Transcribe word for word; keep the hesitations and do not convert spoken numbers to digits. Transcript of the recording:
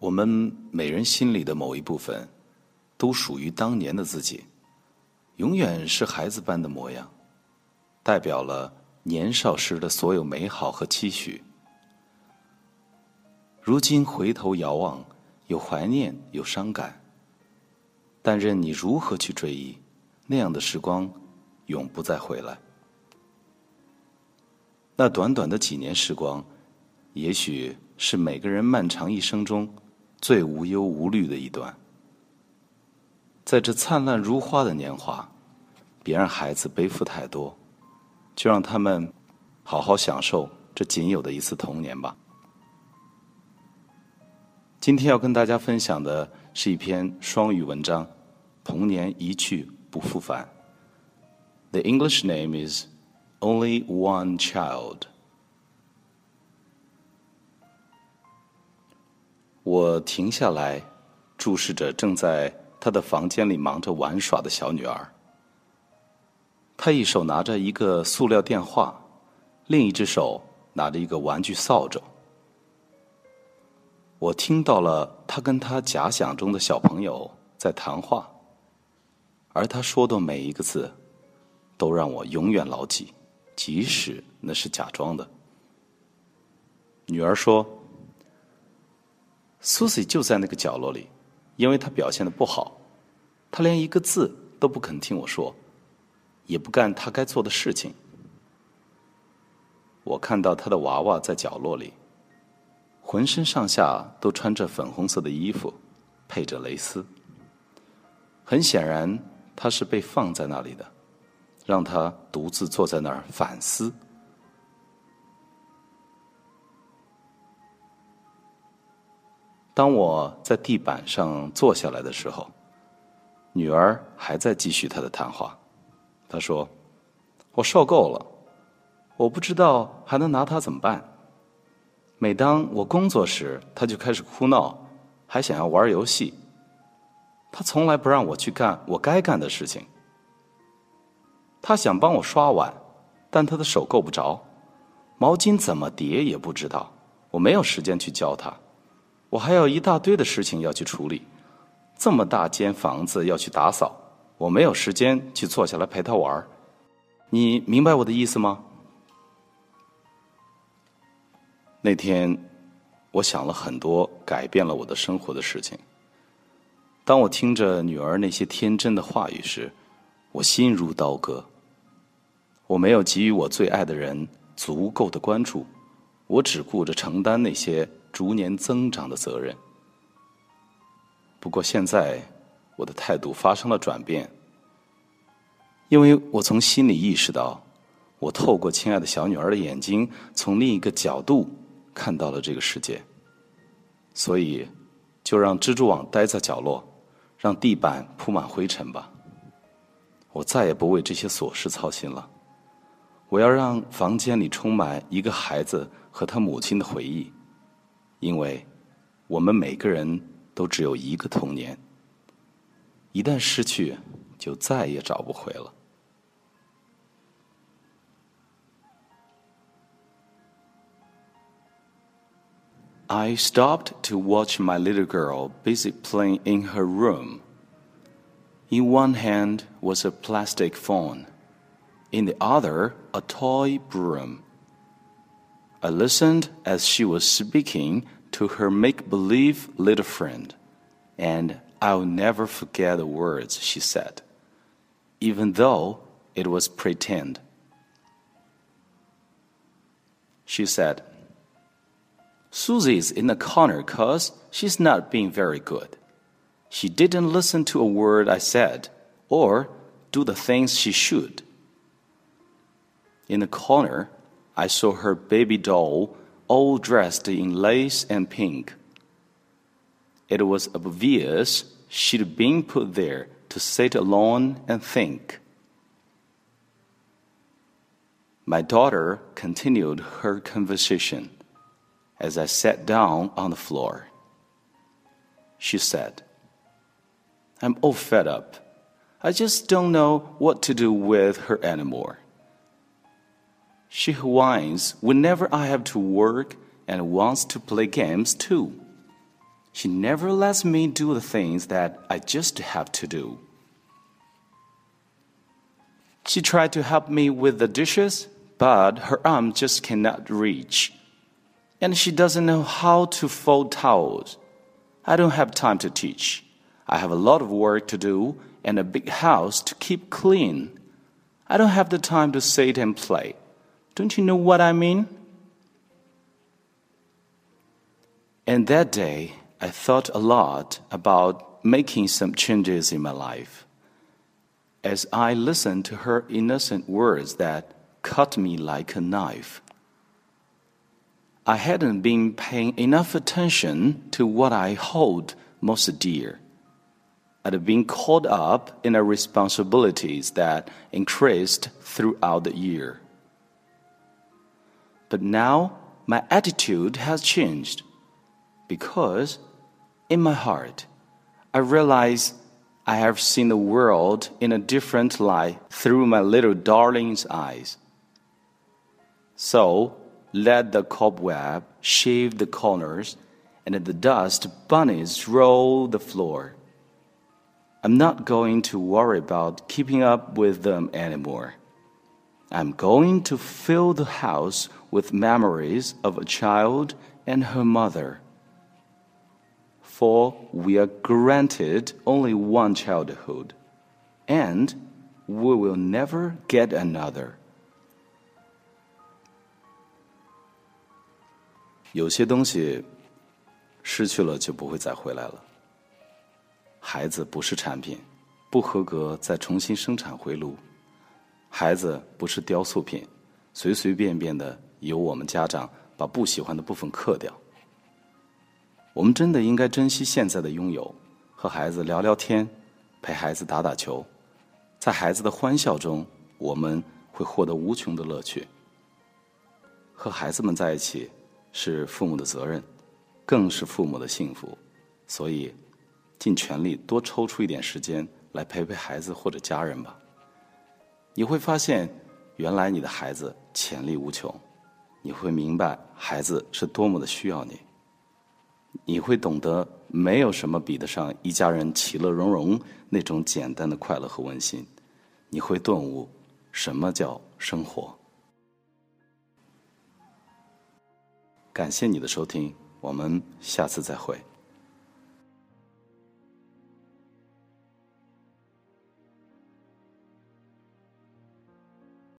我们每人心里的某一部分，都属于当年的自己，永远是孩子般的模样，代表了年少时的所有美好和期许。如今回头遥望，有怀念，有伤感，但任你如何去追忆，那样的时光永不再回来。那短短的几年时光，也许是每个人漫长一生中最无忧无虑的一段。在这灿烂如花的年华，别让孩子背负太多，就让他们好好享受这仅有的一次童年吧。今天要跟大家分享的是一篇双语文章，童年一去不复返。 The English name is Only One Child。 我停下来，注视着正在她的房间里忙着玩耍的小女儿。她一手拿着一个塑料电话，另一只手拿着一个玩具扫帚。我听到了她跟她假想中的小朋友在谈话，而她说的每一个字都让我永远牢记，即使那是假装的。女儿说，苏西就在那个角落里，因为她表现得不好，她连一个字都不肯听我说，也不干她该做的事情。我看到她的娃娃在角落里，浑身上下都穿着粉红色的衣服，配着蕾丝。很显然，她是被放在那里的，让她独自坐在那儿反思。当我在地板上坐下来的时候，女儿还在继续她的谈话。她说，我受够了，我不知道还能拿她怎么办。每当我工作时，她就开始哭闹，还想要玩游戏。她从来不让我去干我该干的事情。她想帮我刷碗，但她的手够不着，毛巾怎么叠也不知道，我没有时间去教她。我还有一大堆的事情要去处理，这么大间房子要去打扫，我没有时间去坐下来陪她玩。你明白我的意思吗？那天我想了很多改变了我的生活的事情。当我听着女儿那些天真的话语时，我心如刀割。我没有给予我最爱的人足够的关注，我只顾着承担那些逐年增长的责任。不过现在我的态度发生了转变，因为我从心里意识到，我透过亲爱的小女儿的眼睛，从另一个角度看到了这个世界。所以就让蜘蛛网待在角落，让地板铺满灰尘吧。我再也不为这些琐事操心了。我要让房间里充满一个孩子和他母亲的回忆，因为我们每个人都只有一个童年，一旦失去，就再也找不回了。I stopped to watch my little girl busy playing in her room. In one hand was a plastic phone, in the other a toy broom. I listened as she was speaking to her make-believe little friend, and I'll never forget the words she said, even though it was pretend. She said, Susie's in the corner 'cause she's not being very good. She didn't listen to a word I said, or do the things she should. In the corner, I saw her baby doll all dressed in lace and pink. It was obvious she'd been put there to sit alone and think. My daughter continued her conversation as I sat down on the floor. She said, I'm all fed up. I just don't know what to do with her anymore. She whines whenever I have to work and wants to play games too. She never lets me do the things that I just have to do. She tried to help me with the dishes, but her arm just cannot reach. And she doesn't know how to fold towels. I don't have time to teach. I have a lot of work to do and a big house to keep clean. I don't have the time to sit and play. Don't you know what I mean? And that day, I thought a lot about making some changes in my life. As I listened to her innocent words that cut me like a knife, I hadn't been paying enough attention to what I hold most dear. I'd been caught up in the responsibilities that increased throughout the year. But now my attitude has changed because in my heart I realize I have seen the world in a different light through my little darling's eyes. So let the cobweb shave the corners and the dust bunnies roll the floor. I'm not going to worry about keeping up with them anymore. I'm going to fill the house with memories of a child and her mother. For we are granted only one childhood, and we will never get another. 有些东西失去了就不会再回来了。孩子不是产品，不合格再重新生产回炉。孩子不是雕塑品，随随便便的由我们家长把不喜欢的部分刻掉。我们真的应该珍惜现在的拥有，和孩子聊聊天，陪孩子打打球，在孩子的欢笑中，我们会获得无穷的乐趣。和孩子们在一起是父母的责任，更是父母的幸福，所以尽全力多抽出一点时间来陪陪孩子或者家人吧。你会发现，原来你的孩子潜力无穷，你会明白孩子是多么的需要你。你会懂得，没有什么比得上一家人其乐融融那种简单的快乐和温馨。你会顿悟，什么叫生活。感谢你的收听，我们下次再会。